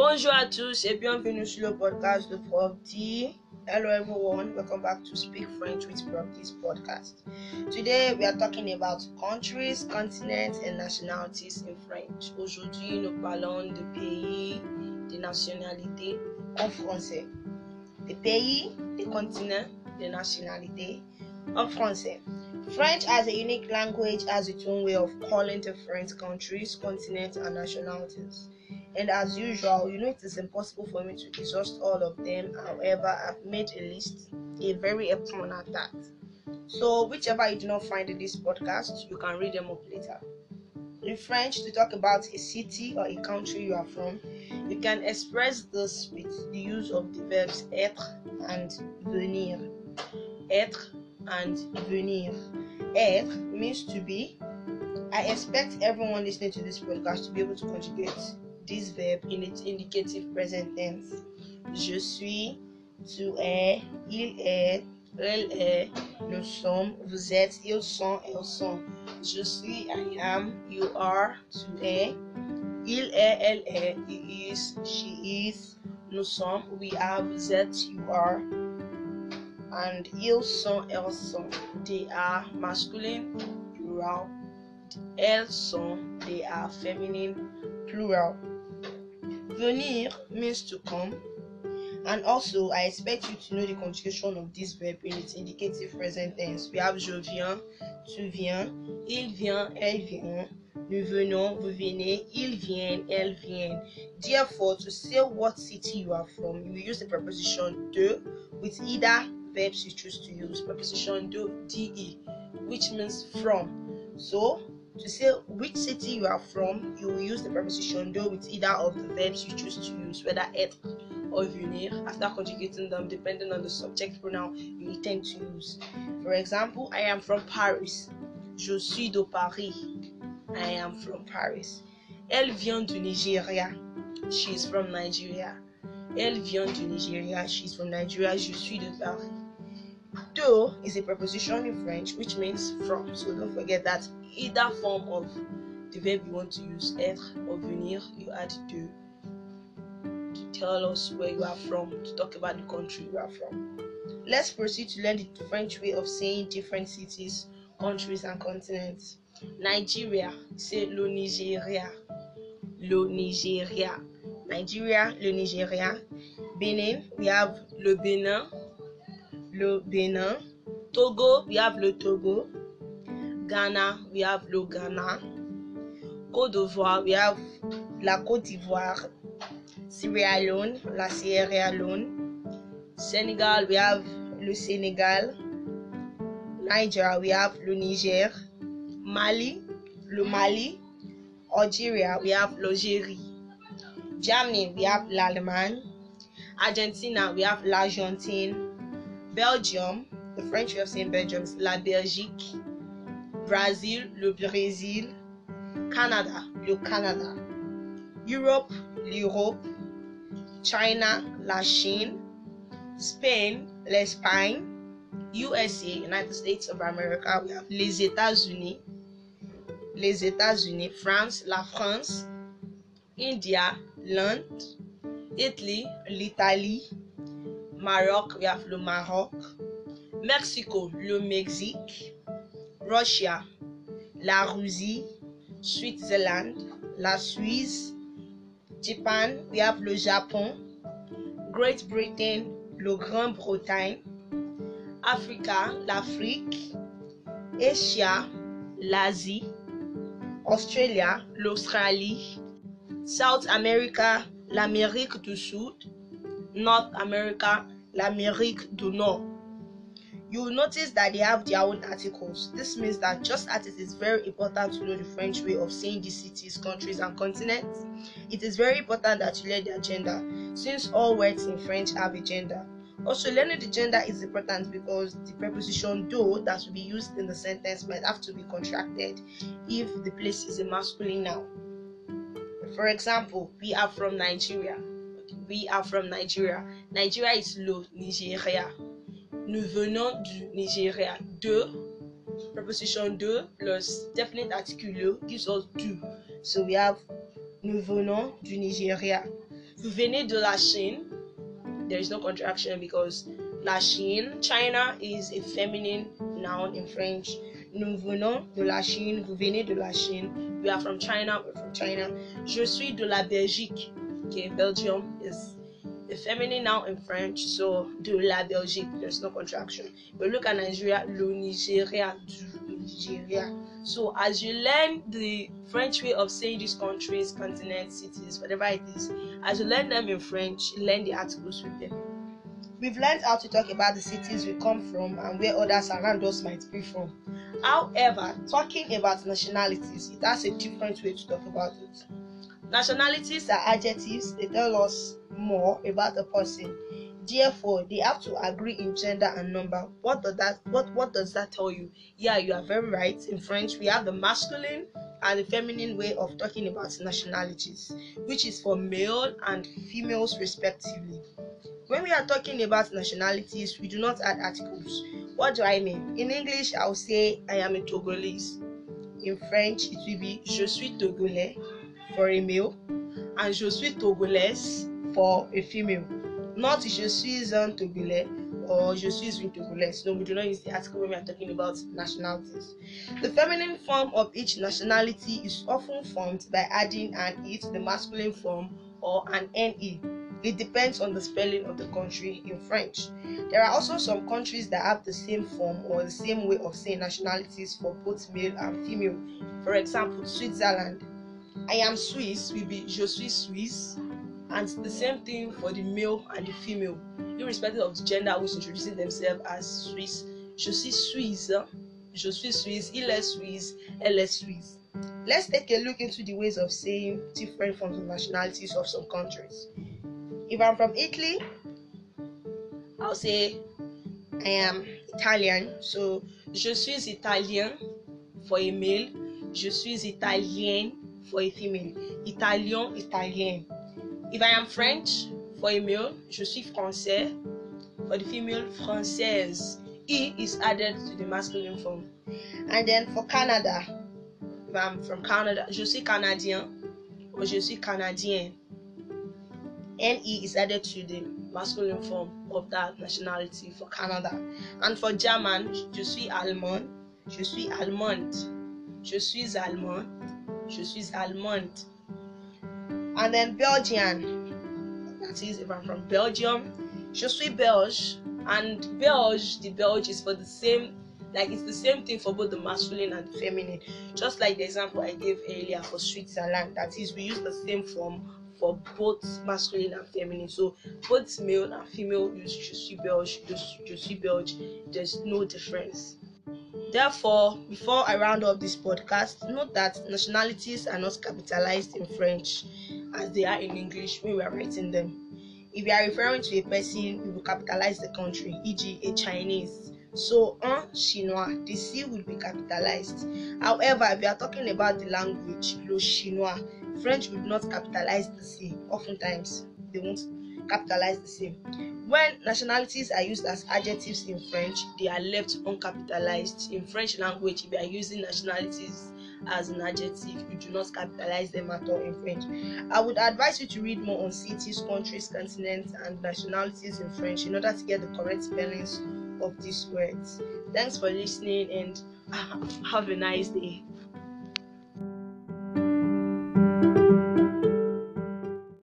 Bonjour à tous et bienvenue sur le podcast de Prof D. Hello everyone, welcome back to Speak French with Prof D's podcast. Today we are talking about countries, continents and nationalities in French. Aujourd'hui nous parlons de pays, de nationalités en français. Des pays, des continents, des nationalités en français. French as a unique language has its own way of calling different countries, continents and nationalities. And as usual, it is impossible for me to exhaust all of them. However, I've made a list, a very fun at that. So whichever you do not find in this podcast, you can read them up later. In French, to talk about a city or a country you are from, you can express this with the use of the verbs être and venir. Être and venir. Être means to be. I expect everyone listening to this podcast to be able to conjugate this verb in its indicative present tense. Je suis, tu es, il est, elle est, nous sommes, vous êtes, ils sont, elles sont. Je suis, I am, you are, tu es, il est, elle est, he is, she is, nous sommes, we are, vous êtes, you are, and ils sont, elles sont. They are masculine, plural. Elles sont, they are feminine, plural. Venir means to come, and also I expect you to know the conjugation of this verb in its indicative present tense. We have je viens, tu viens, il vient, elle vient, nous venons, vous venez, ils viennent, elles viennent. Therefore, to say what city you are from, you will use the preposition de with either verbs you choose to use. Preposition de, which means from. So, to say which city you are from, you will use the preposition do with either of the verbs you choose to use, whether être or venir, after conjugating them depending on the subject pronoun you intend to use. For example, I am from Paris. Je suis de Paris. I am from Paris. Elle vient du Nigeria. She is from Nigeria. Elle vient du Nigeria. She is from Nigeria. Je suis de Paris. De is a preposition in French which means from, so don't forget that either form of the verb you want to use, être or venir, you add de to tell us where you are from, to talk about the country you are from. Let's proceed to learn the French way of saying different cities, countries and continents. Nigeria, c'est le Nigeria. Le Nigeria. Nigeria, le Nigeria. Benin, we have le Benin. Le Benin. Togo, we have le Togo. Ghana, we have le Ghana. Côte d'Ivoire, we have la Côte d'Ivoire. Sierra Leone, la Sierra Leone. Senegal, we have le Senegal. Niger, we have le Niger. Mali, le Mali. Algeria, we have l'Algérie. Germany, we have l'Allemagne. Argentina, we have l'Argentine. Belgium, the French way of saying Belgium is la Belgique. Brazil, le Brésil. Canada, le Canada. Europe, l'Europe. China, la Chine. Spain, l'Espagne. USA, United States of America, we have les États-Unis. Les États-Unis. France, la France. India, l'Inde. Italy, l'Italie. Maroc, we have le Maroc. Mexico, le Mexique. Russia, la Russie. Switzerland, la Suisse. Japan, we have le Japon. Great Britain, le Grande-Bretagne. Africa, l'Afrique. Asia, l'Asie. Australia, l'Australie. South America, l'Amérique du Sud. North America, l'Amérique du Nord. You will notice that they have their own articles. This means that just as it is very important to know the French way of saying these cities, countries, and continents, it is very important that you learn their gender, since all words in French have a gender. Also, learning the gender is important because the preposition do that will be used in the sentence might have to be contracted if the place is a masculine noun. For example, we are from Nigeria. We are from Nigeria. Nigeria is le Nigeria. Nous venons du Nigeria. De, preposition de plus definite article le gives us du. So we have nous venons du Nigeria. Vous venez de la Chine. There is no contraction because la Chine, China, is a feminine noun in French. Nous venons de la Chine. Vous venez de la Chine. We are from China. We're from China. Je suis de la Belgique. Okay, Belgium is a feminine noun in French, so de la Belgique, there's no contraction. But look at Nigeria, le Nigeria, du Nigeria. So as you learn the French way of saying these countries, continents, cities, whatever it is, as you learn them in French, learn the articles with them. We've learned how to talk about the cities we come from and where others around us might be from. However, talking about nationalities, it has a different way to talk about it. Nationalities are adjectives. They tell us more about a person. Therefore, they have to agree in gender and number. What does that tell you? Yeah, you are very right. In French, we have the masculine and the feminine way of talking about nationalities, which is for male and females respectively. When we are talking about nationalities, we do not add articles. What do I mean? In English, I'll say I am a Togolese. In French, it will be je suis Togolais for a male and je suis Togolaise for a female. Not je suis un Togolais or je suis une Togolaise. No, we do not use the article when we are talking about nationalities. The feminine form of each nationality is often formed by adding an E to the masculine form or an NE. It depends on the spelling of the country in French. There are also some countries that have the same form or the same way of saying nationalities for both male and female. For example, Switzerland. I am Swiss will be je suis Suisse, and the same thing for the male and the female, irrespective of the gender who's introducing themselves as Swiss. Je suis Suisse, je suis Suisse, il est Suisse, elle est Suisse. Let's take a look into the ways of saying different forms of nationalities of some countries. If I'm from Italy, I'll say I am Italian. So, je suis Italien for a male, je suis Italienne for a female. Italien, Italien. If I am French for a male, je suis Français. For the female, Française. E is added to the masculine form. And then for Canada, if I'm from Canada, je suis Canadien or je suis Canadienne. NE is added to the masculine form of that nationality for Canada. And for German, je suis Allemand, je suis Allemande, je suis Allemand, je suis Allemande. And then Belgian, that is if I'm from Belgium, je suis Belge. And Belge, the Belge is for the same, like it's the same thing for both the masculine and the feminine. Just like the example I gave earlier for Switzerland, that is we use the same form for both masculine and feminine. So both male and female use je suis Belge, je suis Belge. There's no difference. Therefore, before I round up this podcast, note that nationalities are not capitalized in French as they are in English when we are writing them. If you are referring to a person, you will capitalize the country, e.g. a Chinese. So, un Chinois, the C will be capitalized. However, if you are talking about the language, le Chinois, French will not capitalize the C. Oftentimes, they won't capitalize the C. When nationalities are used as adjectives in French, they are left uncapitalized. In French language, if you are using nationalities as an adjective, you do not capitalize them at all in French. I would advise you to read more on cities, countries, continents, and nationalities in French in order to get the correct spellings of these words. Thanks for listening and have a nice day.